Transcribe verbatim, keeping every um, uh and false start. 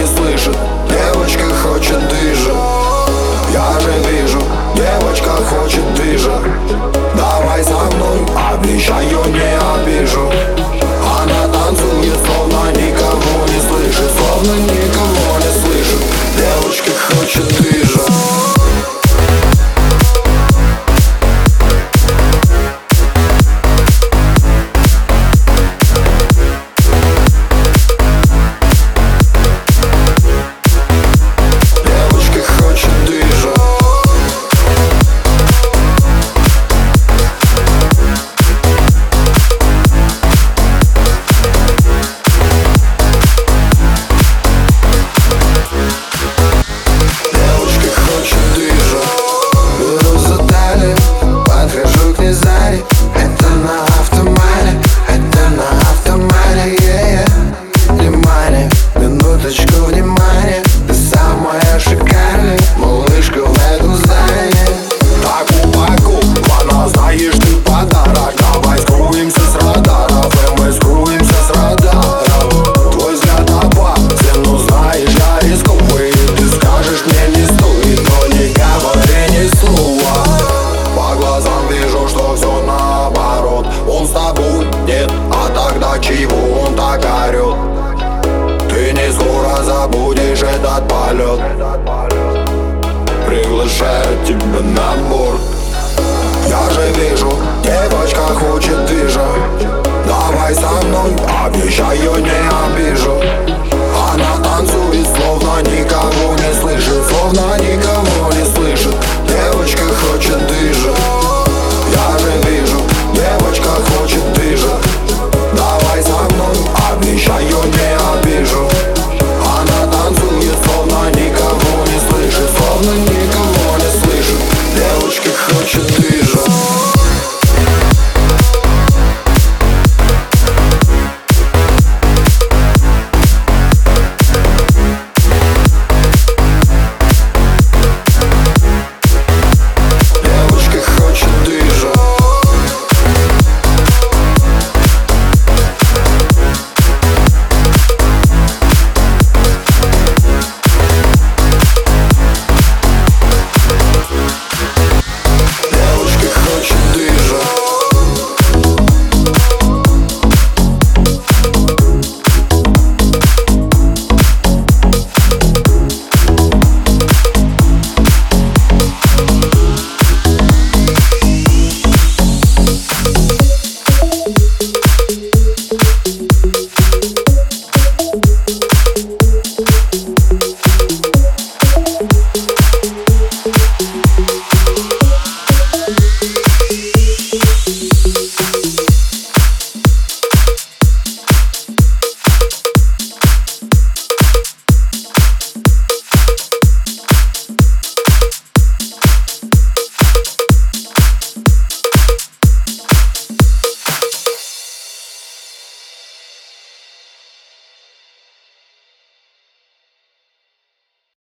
не слышит. Девочка хочет движа. Я же вижу, девочка хочет движа. Давай со мной, обещаю, не обижу. Она танцует, словно никого не слышит. Словно никого не слышит. Девочка хочет движа. Это на автомате, это на автомате, yeah, yeah. Внимание, минуточку внимания. Ты самая шикарная малышка в этом здании. Таку паку, она знаешь, ты подарок. Давай скроемся с радаров, и мы скроемся с радаров. Твой взгляд опасен, ну знаешь, я рискую. Ты скажешь мне не стоит, но не говори ни слова. По глазам вижу, что все наоборот. Он с тобой нет, а тогда чего он так орет? Ты не скоро забудешь этот полет. Приглашаю тебя на борт. Я же вижу, девочка хочет движа. Давай со мной, обещаю, не обижу.